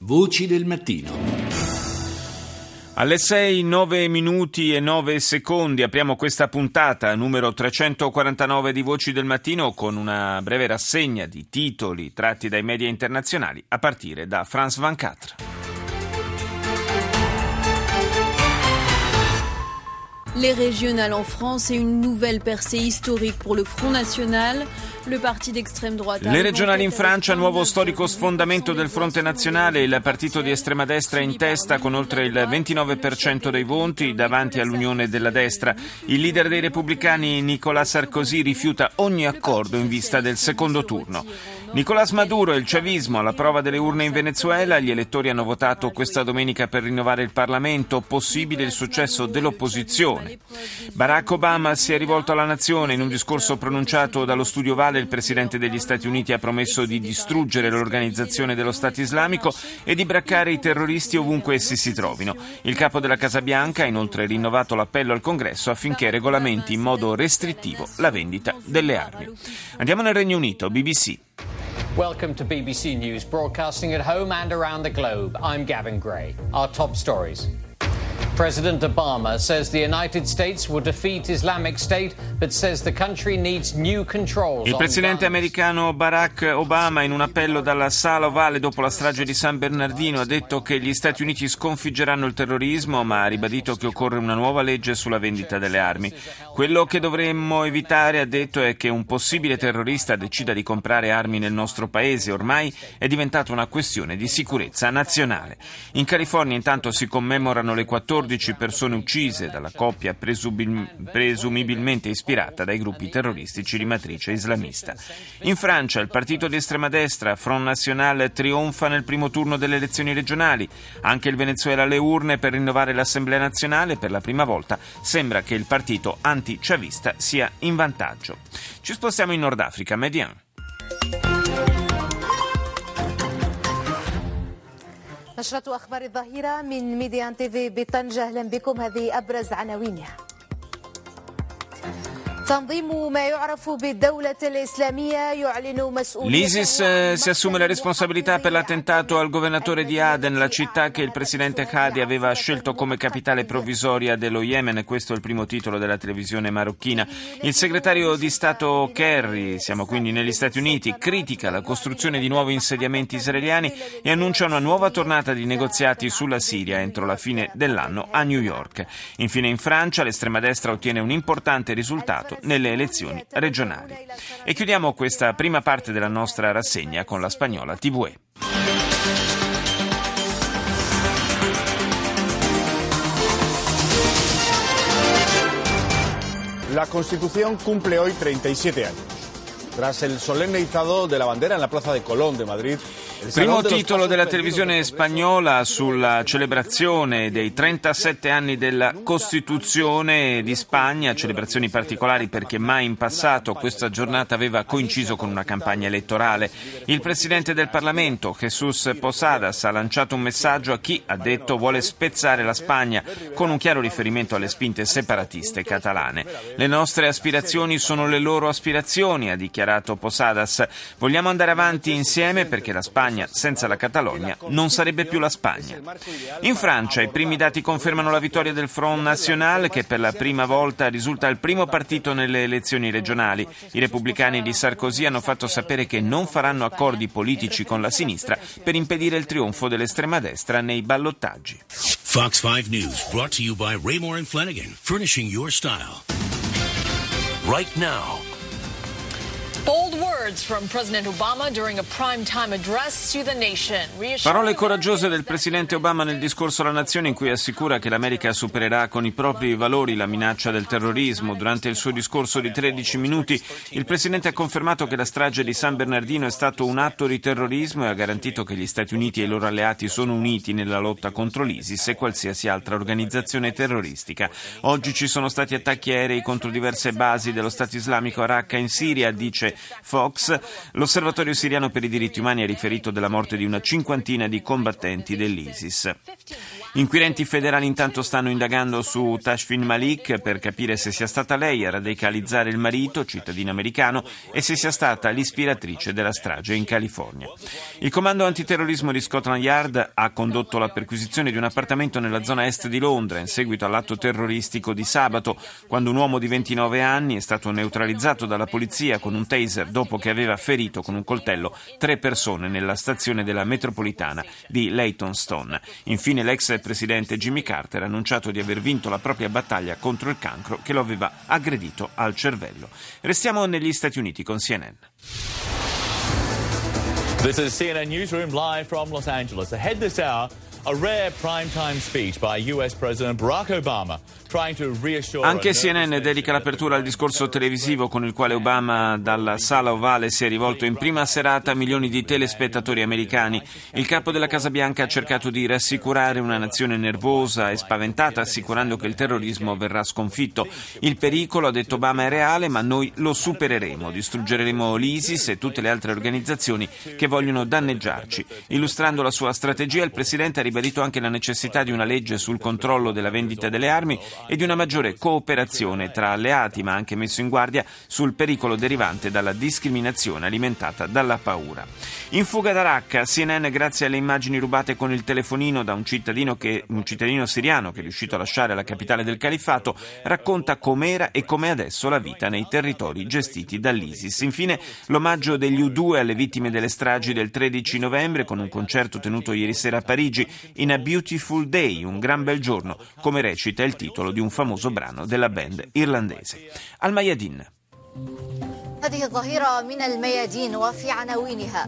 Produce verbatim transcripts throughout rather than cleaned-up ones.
Voci del mattino. Alle sei, nove minuti e nove secondi apriamo questa puntata numero trecentoquarantanove di Voci del Mattino con una breve rassegna di titoli tratti dai media internazionali a partire da France ventiquattro. Les régionales en France et une nouvelle percée historique pour le Front National. Le parti d'extrême droite. Le regionali in Francia, nuovo storico sfondamento del Fronte Nazionale, il partito di estrema destra in testa con oltre il ventinove per cento dei voti davanti all'Unione della Destra. Il leader dei repubblicani Nicolas Sarkozy rifiuta ogni accordo in vista del secondo turno. Nicolás Maduro e il chavismo alla prova delle urne in Venezuela, gli elettori hanno votato questa domenica per rinnovare il Parlamento, possibile il successo dell'opposizione. Barack Obama si è rivolto alla nazione, in un discorso pronunciato dallo Studio Vale il presidente degli Stati Uniti ha promesso di distruggere l'organizzazione dello Stato islamico e di braccare i terroristi ovunque essi si trovino. Il capo della Casa Bianca ha inoltre rinnovato l'appello al Congresso affinché regolamenti in modo restrittivo la vendita delle armi. Andiamo nel Regno Unito, B B C. Welcome to B B C News, broadcasting at home and around the globe. I'm Gavin Gray. Our top stories. President Obama says the United States will defeat Islamic State, but says the country needs new controls. Il presidente americano Barack Obama, in un appello dalla Sala Ovale dopo la strage di San Bernardino, ha detto che gli Stati Uniti sconfiggeranno il terrorismo, ma ha ribadito che occorre una nuova legge sulla vendita delle armi. Quello che dovremmo evitare, ha detto, è che un possibile terrorista decida di comprare armi nel nostro paese. Ormai è diventata una questione di sicurezza nazionale. In California intanto si commemorano le quattordici persone uccise dalla coppia presubil- presumibilmente ispirata dai gruppi terroristici di matrice islamista. In Francia il partito di estrema destra Front National trionfa nel primo turno delle elezioni regionali. Anche il Venezuela alle urne per rinnovare l'Assemblea nazionale. Per la prima volta sembra che il partito anti-chavista sia in vantaggio. Ci spostiamo in Nord Africa, Median. نشرة أخبار الظهيرة من ميديان تي في بطنجة. أهلا بكم. هذه أبرز عناوينها. L'ISIS eh, si assume la responsabilità per l'attentato al governatore di Aden, la città che il presidente Hadi aveva scelto come capitale provvisoria dello Yemen. Questo è il primo titolo della televisione marocchina. Il segretario di Stato Kerry, siamo quindi negli Stati Uniti, critica la costruzione di nuovi insediamenti israeliani e annuncia una nuova tornata di negoziati sulla Siria entro la fine dell'anno a New York. Infine in Francia l'estrema destra ottiene un importante risultato nelle elezioni regionali. E chiudiamo questa prima parte della nostra rassegna con la spagnola T V E. La Constitución cumple hoy treinta y siete años. Tras el solemne izado de la bandera en la Plaza de Colón de Madrid. Primo titolo della televisione spagnola sulla celebrazione dei trentasette anni della Costituzione di Spagna, celebrazioni particolari perché mai in passato questa giornata aveva coinciso con una campagna elettorale. Il presidente del Parlamento, Jesús Posadas, ha lanciato un messaggio a chi, ha detto, vuole spezzare la Spagna, con un chiaro riferimento alle spinte separatiste catalane. Le nostre aspirazioni sono le loro aspirazioni, ha dichiarato Posadas. Vogliamo andare avanti insieme perché la Spagna senza la Catalogna non sarebbe più la Spagna. In Francia i primi dati confermano la vittoria del Front National, che per la prima volta risulta il primo partito nelle elezioni regionali. I repubblicani di Sarkozy hanno fatto sapere che non faranno accordi politici con la sinistra per impedire il trionfo dell'estrema destra nei ballottaggi. Fox five News brought to you by Raymore and Flanagan, furnishing your style. Right now. Bold words from President Obama during a prime-time address to the nation. Parole coraggiose del presidente Obama nel discorso alla nazione in cui assicura che l'America supererà con i propri valori la minaccia del terrorismo. Durante il suo discorso di tredici minuti il presidente ha confermato che la strage di San Bernardino è stato un atto di terrorismo e ha garantito che gli Stati Uniti e i loro alleati sono uniti nella lotta contro l'ISIS e qualsiasi altra organizzazione terroristica. Oggi ci sono stati attacchi aerei contro diverse basi dello Stato islamico a Raqqa in Siria, dice Fox. L'Osservatorio siriano per i diritti umani ha riferito della morte di una cinquantina di combattenti dell'ISIS. Inquirenti federali intanto stanno indagando su Tashfin Malik per capire se sia stata lei a radicalizzare il marito, cittadino americano, e se sia stata l'ispiratrice della strage in California. Il comando antiterrorismo di Scotland Yard ha condotto la perquisizione di un appartamento nella zona est di Londra in seguito all'atto terroristico di sabato, quando un uomo di ventinove anni è stato neutralizzato dalla polizia con un taser dopo che aveva ferito con un coltello tre persone nella stazione della metropolitana di Leytonstone. Infine l'ex presidente Jimmy Carter ha annunciato di aver vinto la propria battaglia contro il cancro che lo aveva aggredito al cervello. Restiamo negli Stati Uniti con C N N. This is C N N Newsroom live from Los Angeles. Ahead this hour, a rare primetime speech by U S President Barack Obama. Anche C N N dedica l'apertura al discorso televisivo con il quale Obama dalla Sala Ovale si è rivolto in prima serata a milioni di telespettatori americani. Il capo della Casa Bianca ha cercato di rassicurare una nazione nervosa e spaventata, assicurando che il terrorismo verrà sconfitto. Il pericolo, ha detto Obama, è reale, ma noi lo supereremo. Distruggeremo l'ISIS e tutte le altre organizzazioni che vogliono danneggiarci. Illustrando la sua strategia, il Presidente ha ribadito anche la necessità di una legge sul controllo della vendita delle armi e di una maggiore cooperazione tra alleati, ma ha anche messo in guardia sul pericolo derivante dalla discriminazione alimentata dalla paura. In fuga da Raqqa, C N N, grazie alle immagini rubate con il telefonino da un cittadino, che, un cittadino siriano che è riuscito a lasciare la capitale del califfato, racconta com'era e com'è adesso la vita nei territori gestiti dall'ISIS. Infine, l'omaggio degli U due alle vittime delle stragi del tredici novembre con un concerto tenuto ieri sera a Parigi, In a Beautiful Day, un gran bel giorno, come recita il titolo di un famoso brano della band irlandese. Al Mayadin. هذه الظهيرة من الميادين وفي عناوينها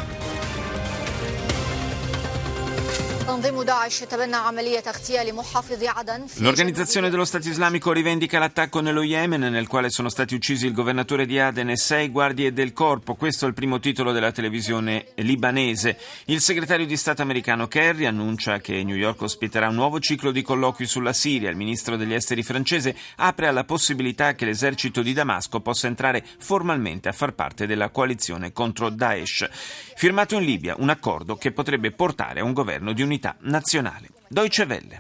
L'Organizzazione dello Stato Islamico rivendica l'attacco nello Yemen, nel quale sono stati uccisi il governatore di Aden e sei guardie del corpo. Questo è il primo titolo della televisione libanese. Il segretario di Stato americano Kerry annuncia che New York ospiterà un nuovo ciclo di colloqui sulla Siria. Il ministro degli esteri francese apre alla possibilità che l'esercito di Damasco possa entrare formalmente a far parte della coalizione contro Daesh. Firmato in Libia un accordo che potrebbe portare a un governo di unità nazionale. Deutsche Welle.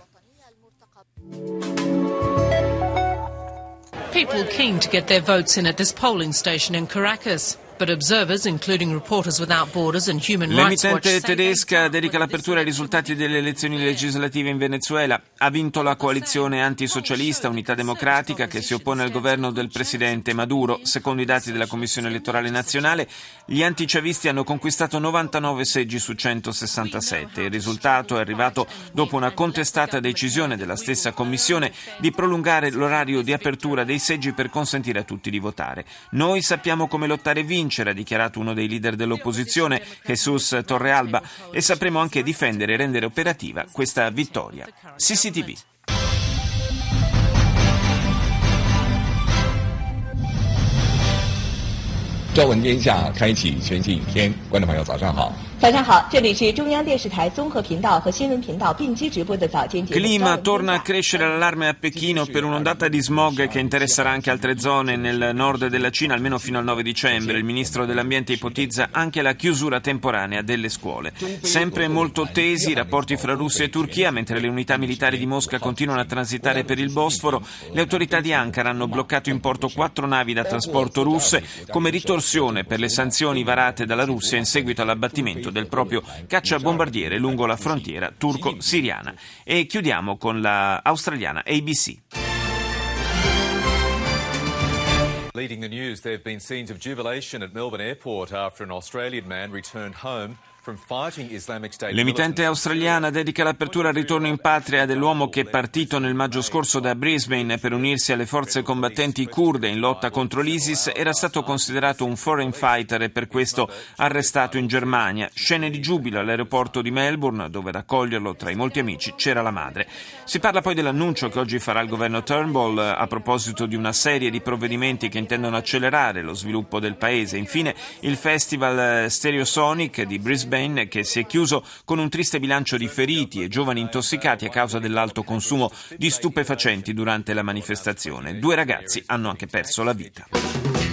People keen to get their votes in at this polling station in Caracas. But observers, including Reporters Without Borders and Human Rights Watch, l'emittente tedesca dedica l'apertura ai risultati delle elezioni legislative in Venezuela. Ha vinto la coalizione antisocialista Unità Democratica che si oppone al governo del presidente Maduro. Secondo i dati della Commissione Elettorale Nazionale, gli antichavisti hanno conquistato novantanove seggi su centosessantasette. Il risultato è arrivato dopo una contestata decisione della stessa Commissione di prolungare l'orario di apertura dei seggi per consentire a tutti di votare. Noi sappiamo come lottare e vincere, ha dichiarato uno dei leader dell'opposizione, Jesus Torrealba, e sapremo anche difendere e rendere operativa questa vittoria. C C T V. 朝闻天下，开启全景影天。观众朋友，早上好。 早上好，这里是中央电视台综合频道和新闻频道并机直播的早间节目。 Clima, torna a crescere l'allarme a Pechino per un'ondata di smog che interesserà anche altre zone nel nord della Cina, almeno fino al nove dicembre. Il ministro dell'ambiente ipotizza anche la chiusura temporanea delle scuole. Sempre molto tesi i rapporti fra Russia e Turchia, mentre le unità militari di Mosca continuano a transitare per il Bosforo. Le autorità di Ankara hanno bloccato in porto quattro navi da trasporto russe come ritorsione per le sanzioni varate dalla Russia in seguito all'abbattimento del proprio cacciabombardiere lungo la frontiera turco-siriana. E chiudiamo con la australiana A B C. Leading the news, there have been scenes of jubilation at Melbourne Airport after an Australian man returned home. L'emittente australiana dedica l'apertura al ritorno in patria dell'uomo che è partito nel maggio scorso da Brisbane per unirsi alle forze combattenti kurde in lotta contro l'ISIS. Era stato considerato un foreign fighter e per questo arrestato in Germania. Scene di giubilo all'aeroporto di Melbourne, dove ad accoglierlo tra i molti amici c'era la madre. Si parla poi dell'annuncio che oggi farà il governo Turnbull a proposito di una serie di provvedimenti che intendono accelerare lo sviluppo del paese. Infine il festival Stereosonic di Brisbane, che si è chiuso con un triste bilancio di feriti e giovani intossicati a causa dell'alto consumo di stupefacenti durante la manifestazione. Due ragazzi hanno anche perso la vita.